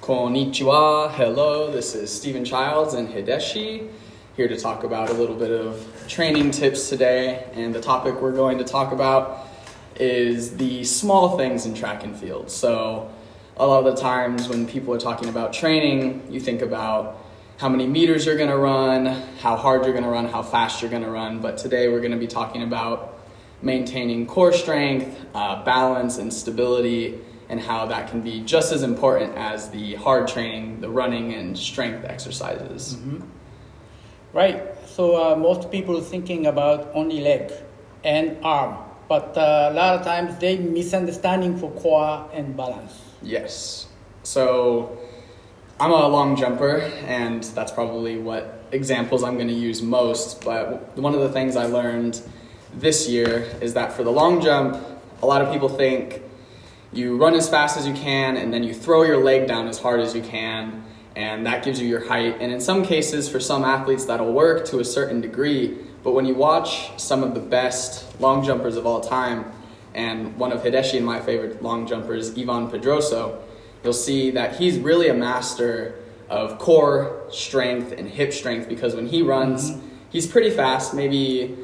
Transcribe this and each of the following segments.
Konnichiwa, hello, this is Stephen Childs and Hideshi, here to talk about a little bit of training tips today. And the topic we're going to talk about is the small things in track and field. So a lot of the times when people are talking about training, you think about how many meters you're going to run, how hard you're going to run, how fast you're going to run. But today we're going to be talking about maintaining core strength, balance, and stability, and how that can be just as important as the hard training, the running and strength exercises. Mm-hmm. Right. So most people thinking about only leg and arm, but a lot of times they misunderstanding for core and balance. Yes. So I'm a long jumper, and that's probably what examples I'm going to use most. But one of the things I learned this year is that for the long jump, a lot of people think you run as fast as you can and then you throw your leg down as hard as you can, and that gives you your height. And in some cases, for some athletes, that'll work to a certain degree. But when you watch some of the best long jumpers of all time, and one of Hideshi and my favorite long jumpers, Ivan Pedroso, you'll see that he's really a master of core strength and hip strength, because when he runs, he's pretty fast, maybe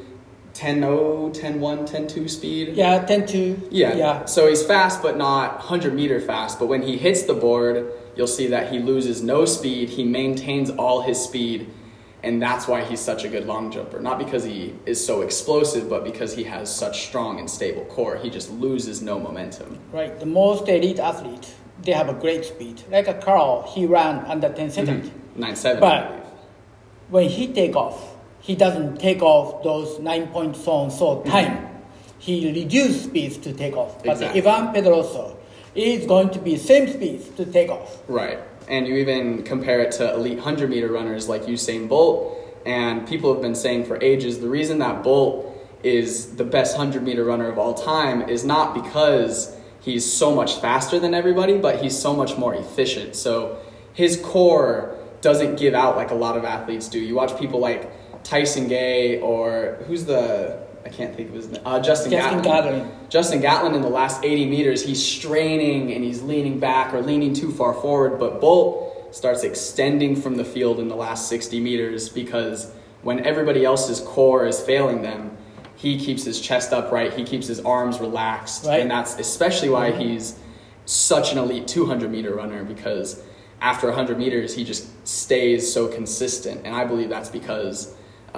10.0, 10.1, 10.2 speed. Yeah, 10.2. Yeah. So he's fast, but not 100-meter fast. But when he hits the board, you'll see that he loses no speed. He maintains all his speed. And that's why he's such a good long jumper. Not because he is so explosive, but because he has such strong and stable core. He just loses no momentum. Right. The most elite athletes, they have a great speed. Like a Carl, he ran under 10 seconds. 9.7, but I believe. When he take off, he doesn't take off those 9 point so time. He reduces speeds to take off. Exactly. But Ivan Pedroso is going to be same speeds to take off. Right. And you even compare it to elite 100-meter runners like Usain Bolt. And people have been saying for ages, the reason that Bolt is the best 100-meter runner of all time is not because he's so much faster than everybody, but he's so much more efficient. So his core doesn't give out like a lot of athletes do. You watch people like Tyson Gay, or I can't think of his name, Justin Gatlin. Justin Gatlin, in the last 80 meters, he's straining and he's leaning back or leaning too far forward, but Bolt starts extending from the field in the last 60 meters because when everybody else's core is failing them, he keeps his chest upright, he keeps his arms relaxed, right. And that's especially why he's such an elite 200-meter runner, because after 100 meters, he just stays so consistent, and I believe that's because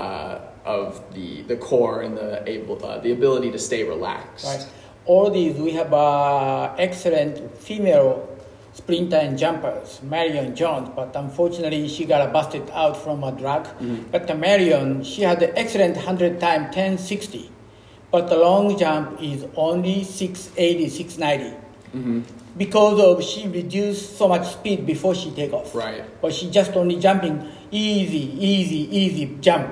of the core and the ability to stay relaxed. Right. All these, we have excellent female sprinter and jumpers, Marion Jones, but unfortunately she got busted out from a drug. Mm-hmm. But Marion, she had the excellent 100 time, 10.60, but the long jump is only 6.80, 6.90. Mm-hmm. Because of she reduced so much speed before she take off. Right. But she just only jumping easy jump.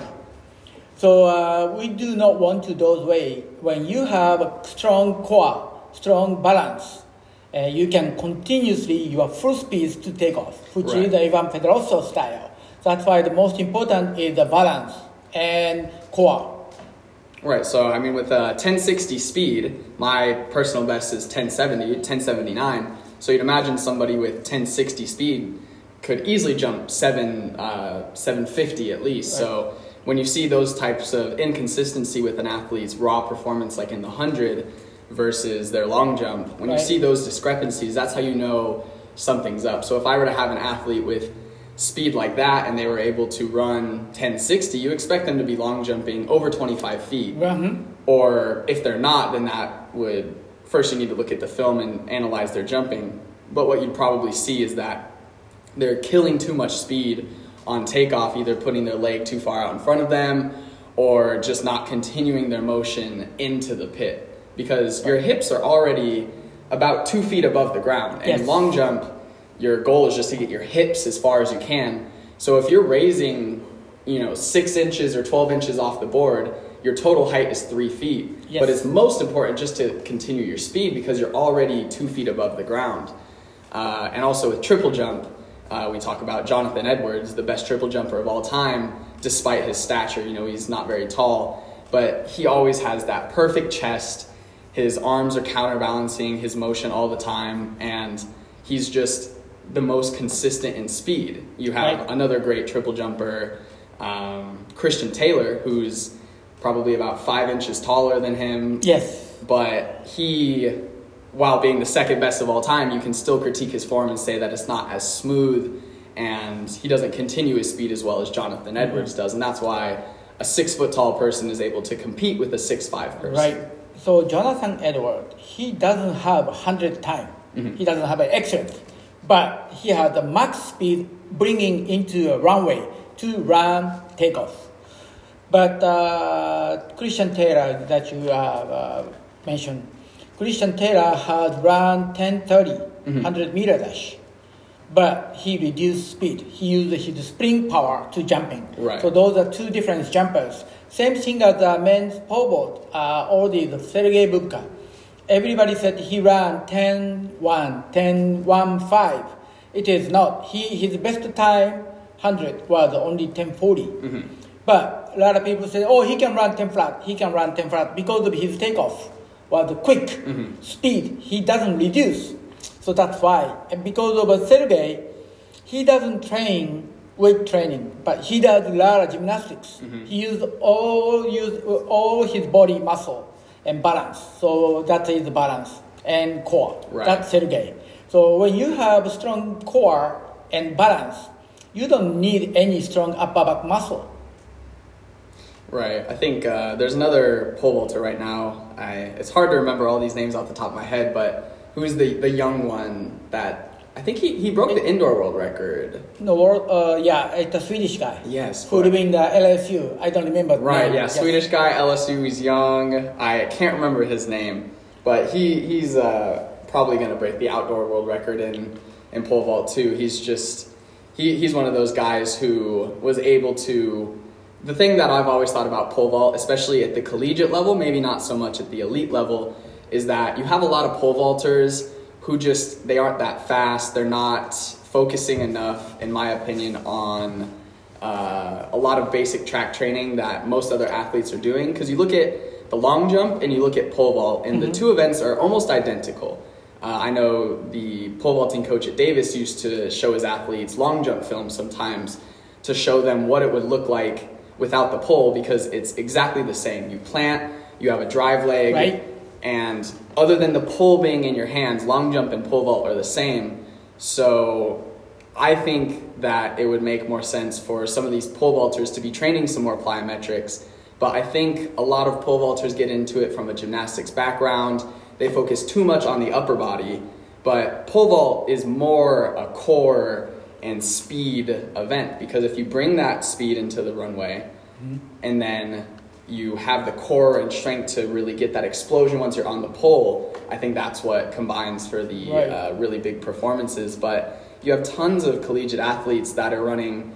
So we do not want to those way. When you have a strong core, strong balance, you can continuously your full speed to take off, which is the Ivan Pedroso style. That's why the most important is the balance and core. Right, so I mean with 1060 speed, my personal best is 1079. So you'd imagine somebody with 1060 speed could easily jump 750 at least. Right. So when you see those types of inconsistency with an athlete's raw performance, like in the 100 versus their long jump, when you see those discrepancies, that's how you know something's up. So if I were to have an athlete with speed like that and they were able to run 1060, you expect them to be long jumping over 25 feet. Mm-hmm. Or if they're not, then that would, first you need to look at the film and analyze their jumping. But what you'd probably see is that they're killing too much speed on takeoff, either putting their leg too far out in front of them or just not continuing their motion into the pit. Because your hips are already about 2 feet above the ground. And in long jump, your goal is just to get your hips as far as you can. So if you're raising, 6 inches or 12 inches off the board, your total height is 3 feet. Yes. But it's most important just to continue your speed because you're already 2 feet above the ground. And also with triple jump, we talk about Jonathan Edwards, the best triple jumper of all time, despite his stature. He's not very tall, but he always has that perfect chest. His arms are counterbalancing his motion all the time, and he's just the most consistent in speed. You have another great triple jumper, Christian Taylor, who's probably about 5 inches taller than him. Yes. But he, while being the second best of all time, you can still critique his form and say that it's not as smooth, and he doesn't continue his speed as well as Jonathan Edwards does. And that's why a 6 foot tall person is able to compete with a 6'5" person. Right. So Jonathan Edwards, he doesn't have 100 time. Mm-hmm. He doesn't have an excellent, but he has the max speed bringing into a runway to run takeoff. But Christian Taylor that you mentioned, Christian Taylor has run 10:30, 100-meter dash, but he reduced speed. He used his spring power to jumping. Right. So those are two different jumpers. Same thing as the men's pole vault, all these, Sergei Bubka. Everybody said he ran 10:1, 10:15. It is not. His best time, 100, was only 10:40. Mm-hmm. But a lot of people say, oh, he can run 10 flat. He can run 10 flat because of his takeoff was quick speed. He doesn't reduce. So that's why. And because of Sergei, he doesn't train weight training, but he does a lot of gymnastics. Mm-hmm. He used all his body muscle and balance. So that is the balance and core. Right. That's Sergei. So when you have a strong core and balance, you don't need any strong upper back muscle. Right. I think there's another pole vaulter right now. It's hard to remember all these names off the top of my head, but who's the young one that I think he broke the indoor world record. No, world. It's a Swedish guy. Yes. Who live in the LSU. I don't remember. Right. Yeah. Yes. Swedish guy, LSU. He's young. I can't remember his name, but he's probably going to break the outdoor world record in pole vault too. He's one of those guys who was able to. The thing that I've always thought about pole vault, especially at the collegiate level, maybe not so much at the elite level, is that you have a lot of pole vaulters who they aren't that fast. They're not focusing enough, in my opinion, on a lot of basic track training that most other athletes are doing. Because you look at the long jump and you look at pole vault, and the two events are almost identical. I know the pole vaulting coach at Davis used to show his athletes long jump films sometimes to show them what it would look like without the pole, because it's exactly the same. You plant, you have a drive leg, right? And other than the pole being in your hands, long jump and pole vault are the same. So I think that it would make more sense for some of these pole vaulters to be training some more plyometrics. But I think a lot of pole vaulters get into it from a gymnastics background. They focus too much on the upper body. But pole vault is more a core and speed event, because if you bring that speed into the runway and then you have the core and strength to really get that explosion once you're on the pole, I think that's what combines for the really big performances. But you have tons of collegiate athletes that are running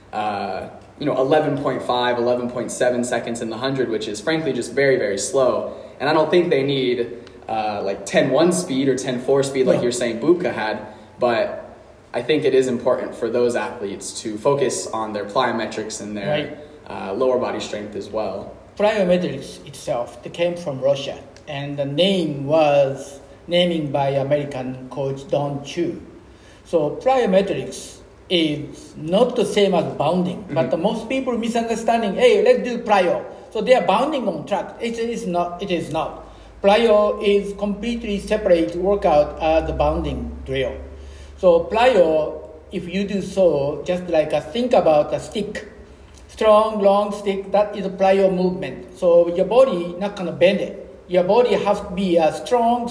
11.5, 11.7 seconds in the 100, which is frankly just very, very slow. And I don't think they need like 10.1 speed or 10.4 speed like you're saying Bubka had, but I think it is important for those athletes to focus on their plyometrics and their lower body strength as well. Plyometrics itself, it came from Russia, and the name was naming by American coach Don Chu. So plyometrics is not the same as bounding, but the most people misunderstanding, hey, let's do plyo. So they are bounding on track. It is not. Plyo is completely separate workout as the bounding drill. So plyo, if you do so, just like think about a stick, strong, long stick, that is a plyo movement. So your body not gonna bend it. Your body has to be a strong,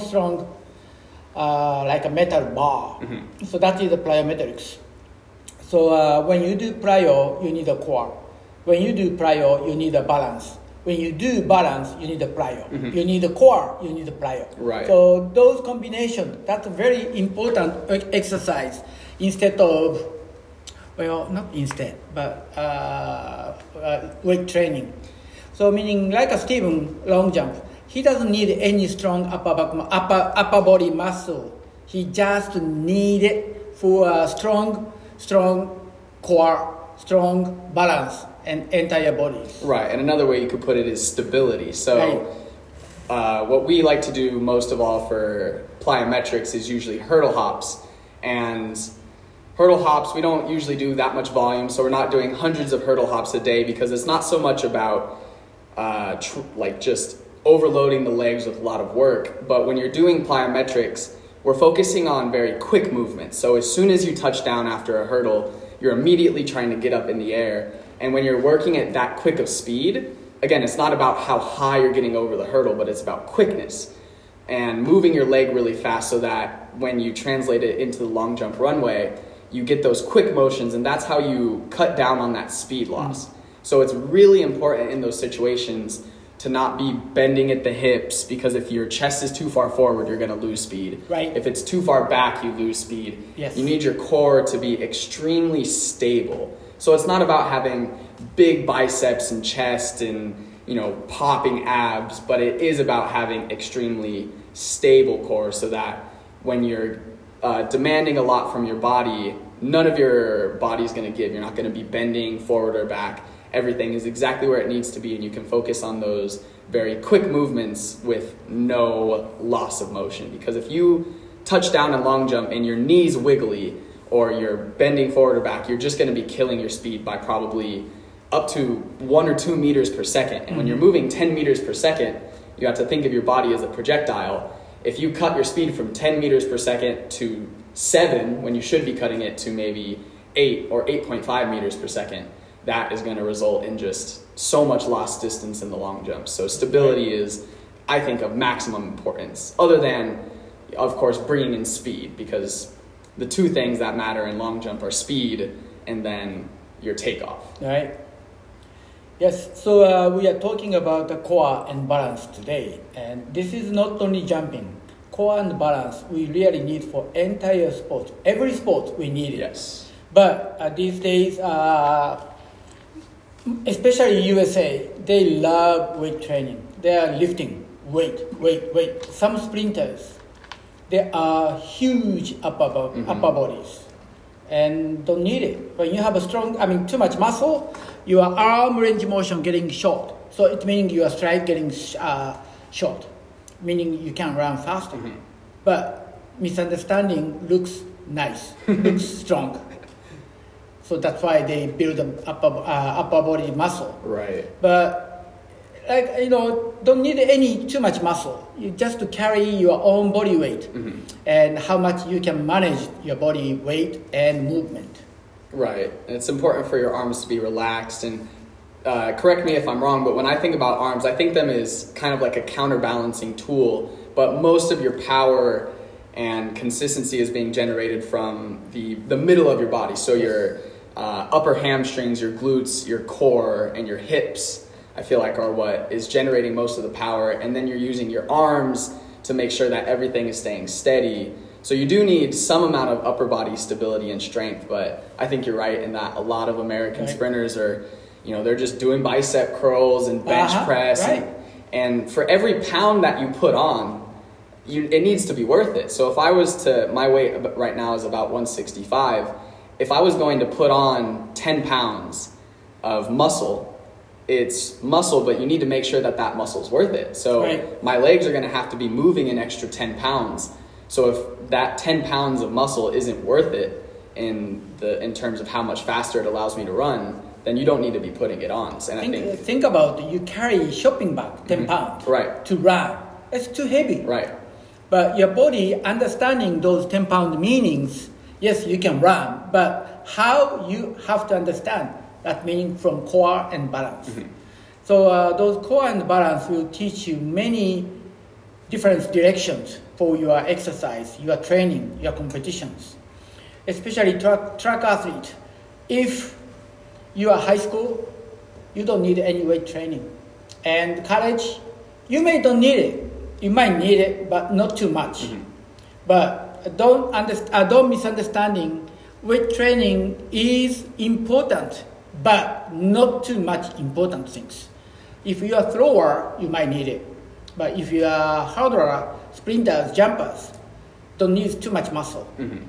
like a metal bar. Mm-hmm. So that is the plyometrics. So when you do plyo, you need a core. When you do plyo, you need a balance. When you do balance, you need a plyo. Mm-hmm. You need a core, you need a plyo. Right. So those combinations, that's a very important exercise instead of, not instead, but weight training. So meaning like a Steven long jump, he doesn't need any strong upper body muscle. He just need it for a strong core, strong balance, and entire body. Right, and another way you could put it is stability. So what we like to do most of all for plyometrics is usually hurdle hops. And hurdle hops, we don't usually do that much volume, so we're not doing hundreds of hurdle hops a day because it's not so much about just overloading the legs with a lot of work. But when you're doing plyometrics, we're focusing on very quick movements. So as soon as you touch down after a hurdle, you're immediately trying to get up in the air. And when you're working at that quick of speed, again, it's not about how high you're getting over the hurdle, but it's about quickness and moving your leg really fast so that when you translate it into the long jump runway, you get those quick motions, and that's how you cut down on that speed loss. So it's really important in those situations to not be bending at the hips, because if your chest is too far forward, you're going to lose speed. Right. If it's too far back, you lose speed. Yes. You need your core to be extremely stable. So it's not about having big biceps and chest and, popping abs, but it is about having extremely stable core so that when you're demanding a lot from your body, none of your body's going to give. You're not going to be bending forward or back. Everything is exactly where it needs to be, and you can focus on those very quick movements with no loss of motion. Because if you touch down in long jump and your knee's wiggly or you're bending forward or back, you're just going to be killing your speed by probably up to 1 or 2 meters per second. And when you're moving 10 meters per second, you have to think of your body as a projectile. If you cut your speed from 10 meters per second to 7, when you should be cutting it to maybe 8 or 8.5 meters per second, that is going to result in just so much lost distance in the long jump. So stability is, I think, of maximum importance, other than, of course, bringing in speed, because the two things that matter in long jump are speed and then your takeoff. Right. Yes, so we are talking about the core and balance today. And this is not only jumping. Core and balance we really need for entire sport. Every sport we need it. Yes. But these days, especially USA, they love weight training. They are lifting weight. Some sprinters, they are huge upper bodies and don't need it. When you have too much muscle, your arm range of motion getting short. So it means your stride getting short, meaning you can run faster. But misunderstanding looks nice, looks strong. So that's why they build an upper body muscle. Right. But don't need too much muscle. You just to carry your own body weight and how much you can manage your body weight and movement. Right. And it's important for your arms to be relaxed. And correct me if I'm wrong, but when I think about arms, I think them as kind of like a counterbalancing tool. But most of your power and consistency is being generated from the middle of your body. So your upper hamstrings, your glutes, your core, and your hips, I feel like, are what is generating most of the power. And then you're using your arms to make sure that everything is staying steady. So you do need some amount of upper body stability and strength, but I think you're right in that a lot of American sprinters are, they're just doing bicep curls and bench press. Right. And for every pound that you put on, it needs to be worth it. So if I was my weight right now is about 165. If I was going to put on 10 pounds of muscle, it's muscle, but you need to make sure that muscle's worth it. So my legs are going to have to be moving an extra 10 pounds. So if that 10 pounds of muscle isn't worth it in terms of how much faster it allows me to run, then you don't need to be putting it on. And think about it. You carry shopping bag 10 pounds to run. It's too heavy. Right. But your body understanding those 10-pound meanings, yes, you can run, but how you have to understand that meaning from core and balance. So those core and balance will teach you many different directions for your exercise, your training, your competitions. Especially track athlete. If you are high school, you don't need any weight training. And college, you may don't need it. You might need it, but not too much. But don't misunderstanding. Weight training is important, but not too much important things. If you are a thrower, you might need it. But if you are hurdler, sprinters, jumpers, don't need too much muscle.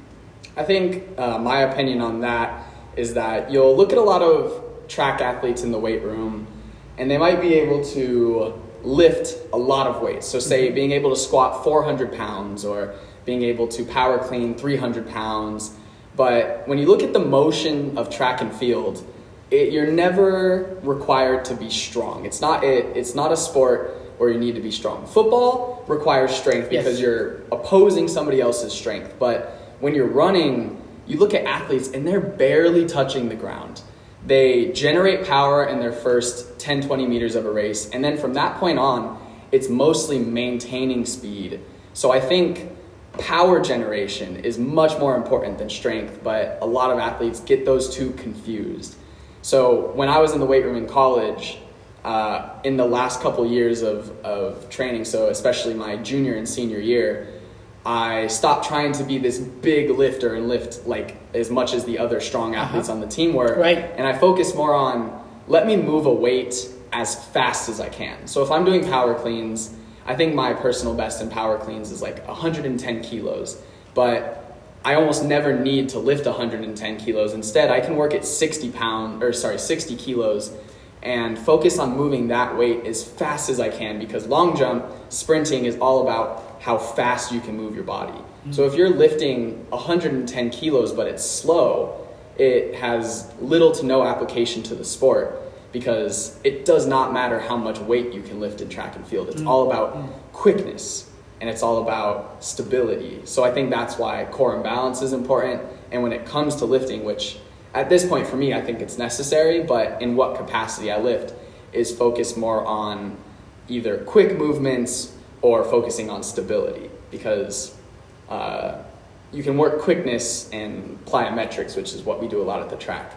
I think my opinion on that is that you'll look at a lot of track athletes in the weight room, and they might be able to lift a lot of weights. So say being able to squat 400 pounds or being able to power clean 300 pounds. But when you look at the motion of track and field, you're never required to be strong. It's not a sport where you need to be strong. Football requires strength because you're opposing somebody else's strength. But when you're running, you look at athletes and they're barely touching the ground. They generate power in their first 10, 20 meters of a race. And then from that point on, it's mostly maintaining speed. So I think power generation is much more important than strength, but a lot of athletes get those two confused. So when I was in the weight room in college, in the last couple years of training, so especially my junior and senior year, I stopped trying to be this big lifter and lift like as much as the other strong athletes on the team were. Right. And I focused more on, let me move a weight as fast as I can. So if I'm doing power cleans, I think my personal best in power cleans is like 110 kilos. But I almost never need to lift 110 kilos. Instead, I can work at 60 kilos and focus on moving that weight as fast as I can, because long jump, sprinting is all about how fast you can move your body. Mm-hmm. So if you're lifting 110 kilos but it's slow, it has little to no application to the sport, because it does not matter how much weight you can lift in track and field. It's all about quickness, and it's all about stability. So I think that's why core and balance is important. And when it comes to lifting, which at this point for me, I think it's necessary, but in what capacity I lift is focus more on either quick movements or focusing on stability, because you can work quickness and plyometrics, which is what we do a lot at the track.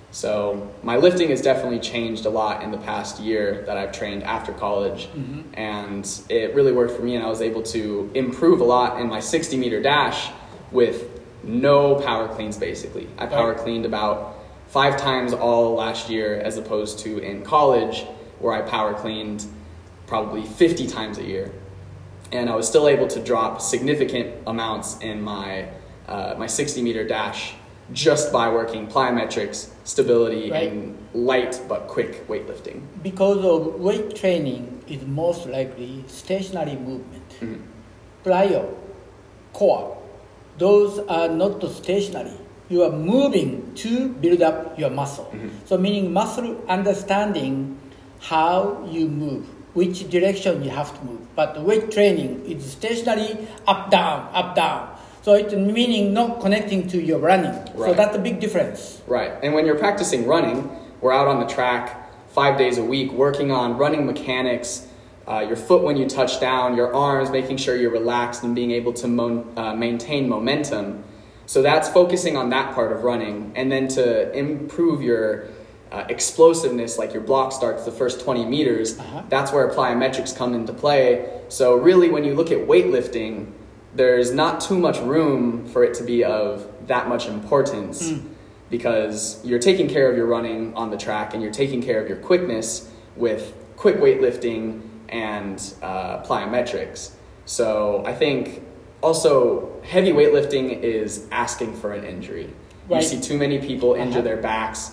So my lifting has definitely changed a lot in the past year that I've trained after college, and it really worked for me, and I was able to improve a lot in my 60-meter dash with no power cleans, basically. I power cleaned about 5 times all last year, as opposed to in college where I power cleaned probably 50 times a year. And I was still able to drop significant amounts in my 60-meter dash just by working plyometrics, stability, and light but quick weightlifting. Because of weight training is most likely stationary movement. Plyo, core, those are not stationary. You are moving to build up your muscle. So meaning muscle understanding how you move, which direction you have to move. But weight training is stationary, up, down, up, down. So it's meaning not connecting to your running. So that's a big difference. Right. And when you're practicing running, we're out on the track 5 days a week working on running mechanics, your foot when you touch down, your arms, making sure you're relaxed and being able to maintain momentum. So that's focusing on that part of running. And then to improve your explosiveness, like your block starts the first 20 meters, that's where plyometrics come into play. So really when you look at weightlifting, there's not too much room for it to be of that much importance, because you're taking care of your running on the track and you're taking care of your quickness with quick weightlifting and plyometrics. So I think also heavy weightlifting is asking for an injury. You see too many people injure their backs.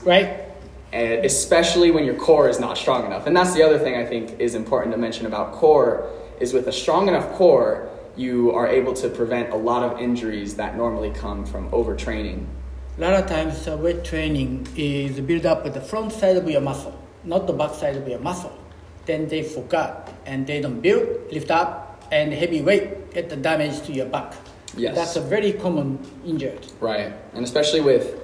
And especially when your core is not strong enough. And that's the other thing I think is important to mention about core, is with a strong enough core, you are able to prevent a lot of injuries that normally come from overtraining. A lot of times weight training is built up with the front side of your muscle, not the back side of your muscle. Then they forgot and they don't build, lift up, and heavy weight get the damage to your back. Yes. That's a very common injury. Right. And especially with,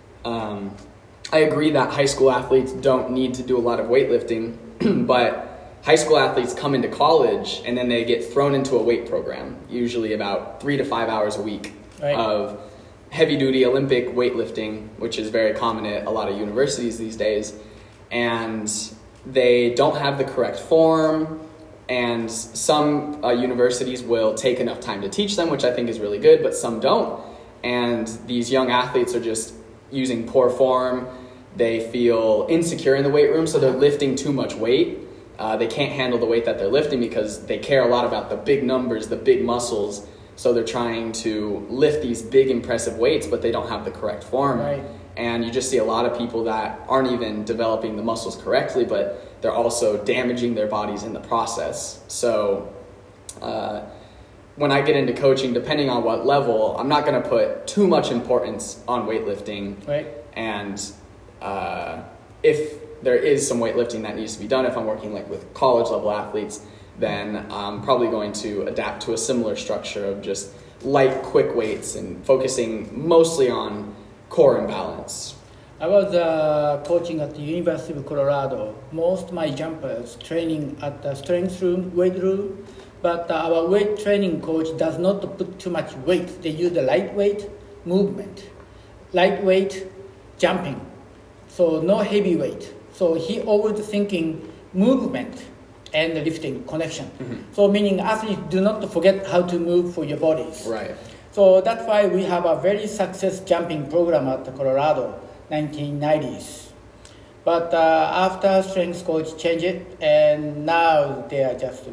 I agree that high school athletes don't need to do a lot of weightlifting, but high school athletes come into college and then they get thrown into a weight program, usually about 3 to 5 hours a week of heavy-duty Olympic weightlifting, which is very common at a lot of universities these days. And they don't have the correct form, and some universities will take enough time to teach them, which I think is really good, but some don't. And these young athletes are just using poor form. They feel insecure in the weight room, so they're lifting too much weight. They can't handle the weight that they're lifting because they care a lot about the big numbers, the big muscles. So they're trying to lift these big, impressive weights, but they don't have the correct form. And you just see a lot of people that aren't even developing the muscles correctly, but they're also damaging their bodies in the process. So when I get into coaching, depending on what level, I'm not going to put too much importance on weightlifting. Right. And if there is some weightlifting that needs to be done, if I'm working like with college level athletes, then I'm probably going to adapt to a similar structure of just light, quick weights and focusing mostly on core and balance. I was coaching at the University of Colorado. Most of my jumpers training at the strength room, weight room, but our weight training coach does not put too much weight. They use the lightweight movement, lightweight jumping, so no heavy weight. So he always thinking movement and the lifting connection. So meaning athletes do not forget how to move for your bodies. Right. So that's why we have a very success jumping program at Colorado, 1990s. But after strength coach changed it, and now they are just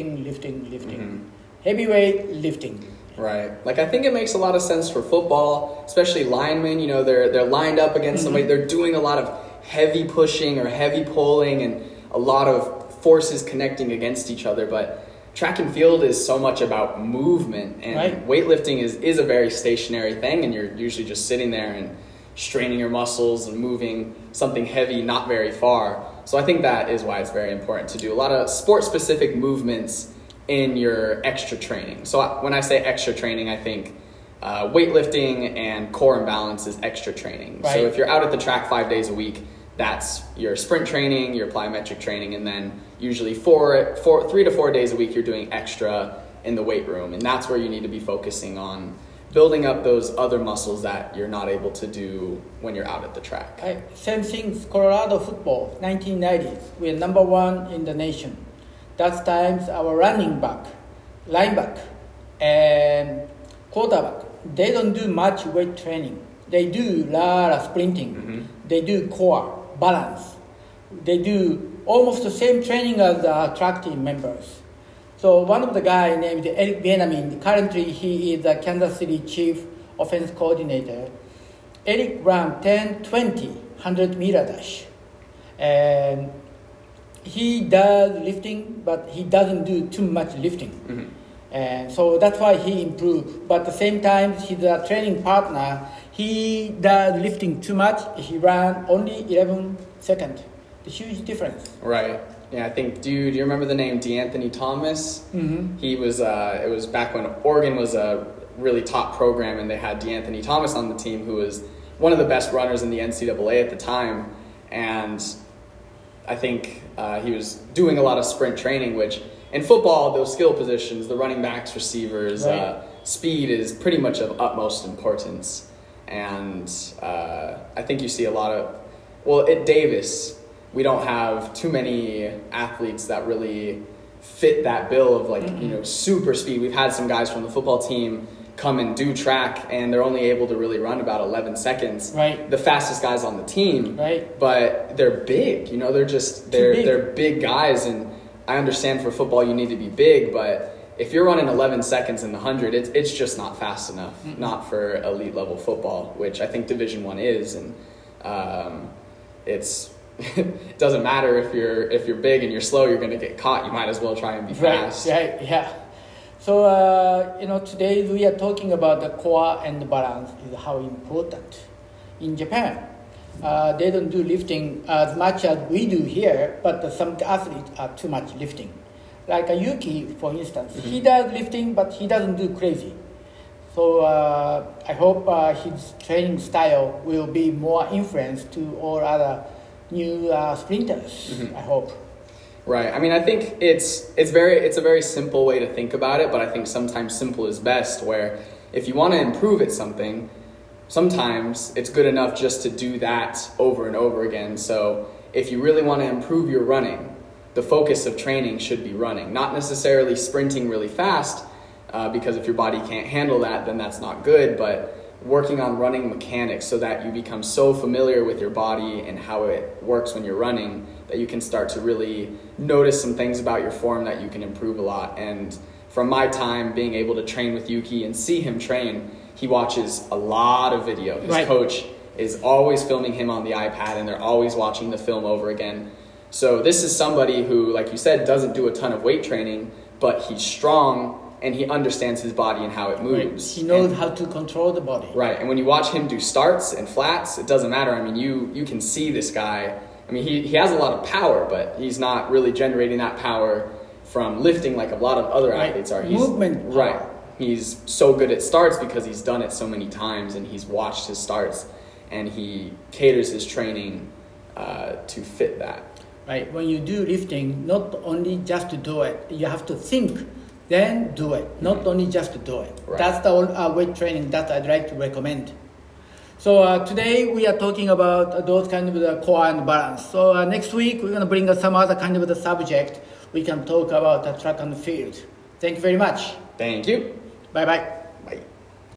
lifting. Heavyweight lifting. Right. Like I think it makes a lot of sense for football, especially linemen. You know, they're lined up against somebody. They're doing a lot of heavy pushing or heavy pulling and a lot of forces connecting against each other. But track and field is so much about movement, and weightlifting is a very stationary thing, and you're usually just sitting there and straining your muscles and moving something heavy not very far. So I think that is why it's very important to do a lot of sport-specific movements in your extra training. So when I say extra training, I think weightlifting and core and balance is extra training. Right. So if you're out at the track 5 days a week, that's your sprint training, your plyometric training, and then usually 3 to 4 days a week you're doing extra in the weight room. And that's where you need to be focusing on building up those other muscles that you're not able to do when you're out at the track. Same thing, Colorado football, 1990s. We're number one in the nation. That times our running back, linebacker, and quarterback, they don't do much weight training. They do a lot of sprinting. They do core, balance. They do almost the same training as the track team members. So one of the guy named Eric Bieniemy, currently he is the Kansas City Chief Offense Coordinator. Eric ran 10-20 100-meter dash. And he does lifting, but he doesn't do too much lifting. And so that's why he improved. But at the same time, his training partner, he does lifting too much. He ran only 11 seconds. A huge difference. Right. Yeah, I think, do you remember the name DeAnthony Thomas? He was, it was back when Oregon was a really top program, and they had DeAnthony Thomas on the team, who was one of the best runners in the NCAA at the time. And I think he was doing a lot of sprint training, which in football, those skill positions, the running backs, receivers, speed is pretty much of utmost importance. And I think you see a lot of, well, at Davis, we don't have too many athletes that really fit that bill of like, you know, super speed. We've had some guys from the football team come and do track, and they're only able to really run about 11 seconds. Right. The fastest guys on the team. Right. But they're big, you know, they're big guys, and I understand for football you need to be big, but if you're running 11 seconds in the 100, it's just not fast enough, not for elite level football, which I think Division I is, and it doesn't matter if you're big and you're slow, you're going to get caught. You might as well try and be fast. Right, yeah. So, today we are talking about the core and the balance is how important. In Japan, they don't do lifting as much as we do here, but some athletes are too much lifting. Like Yuki, for instance, he does lifting, but he doesn't do crazy. So I hope his training style will be more influence to all other new sprinters, I hope. Right. I mean, I think it's a very simple way to think about it, but I think sometimes simple is best, where if you want to improve at something, sometimes it's good enough just to do that over and over again. So if you really want to improve your running, the focus of training should be running, not necessarily sprinting really fast, because if your body can't handle that, then that's not good, but working on running mechanics so that you become so familiar with your body and how it works when you're running that you can start to really notice some things about your form that you can improve a lot. And from my time being able to train with Yuki and see him train, he watches a lot of video. His coach is always filming him on the iPad, and they're always watching the film over again. So this is somebody who, like you said, doesn't do a ton of weight training, but he's strong and he understands his body and how it moves. He knows how to control the body. Right, and when you watch him do starts and flats, it doesn't matter. I mean, you can see this guy. I mean, he has a lot of power, but he's not really generating that power from lifting like a lot of other athletes are. Movement power. Right. He's so good at starts because he's done it so many times and he's watched his starts and he caters his training to fit that. Right. When you do lifting, not only just to do it, you have to think, then do it. Not only just to do it. Right. That's the weight training that I'd like to recommend. So today we are talking about those kind of the core and balance. So next week we're going to bring some other kind of the subject. We can talk about the track and field. Thank you very much. Thank you. Bye-bye.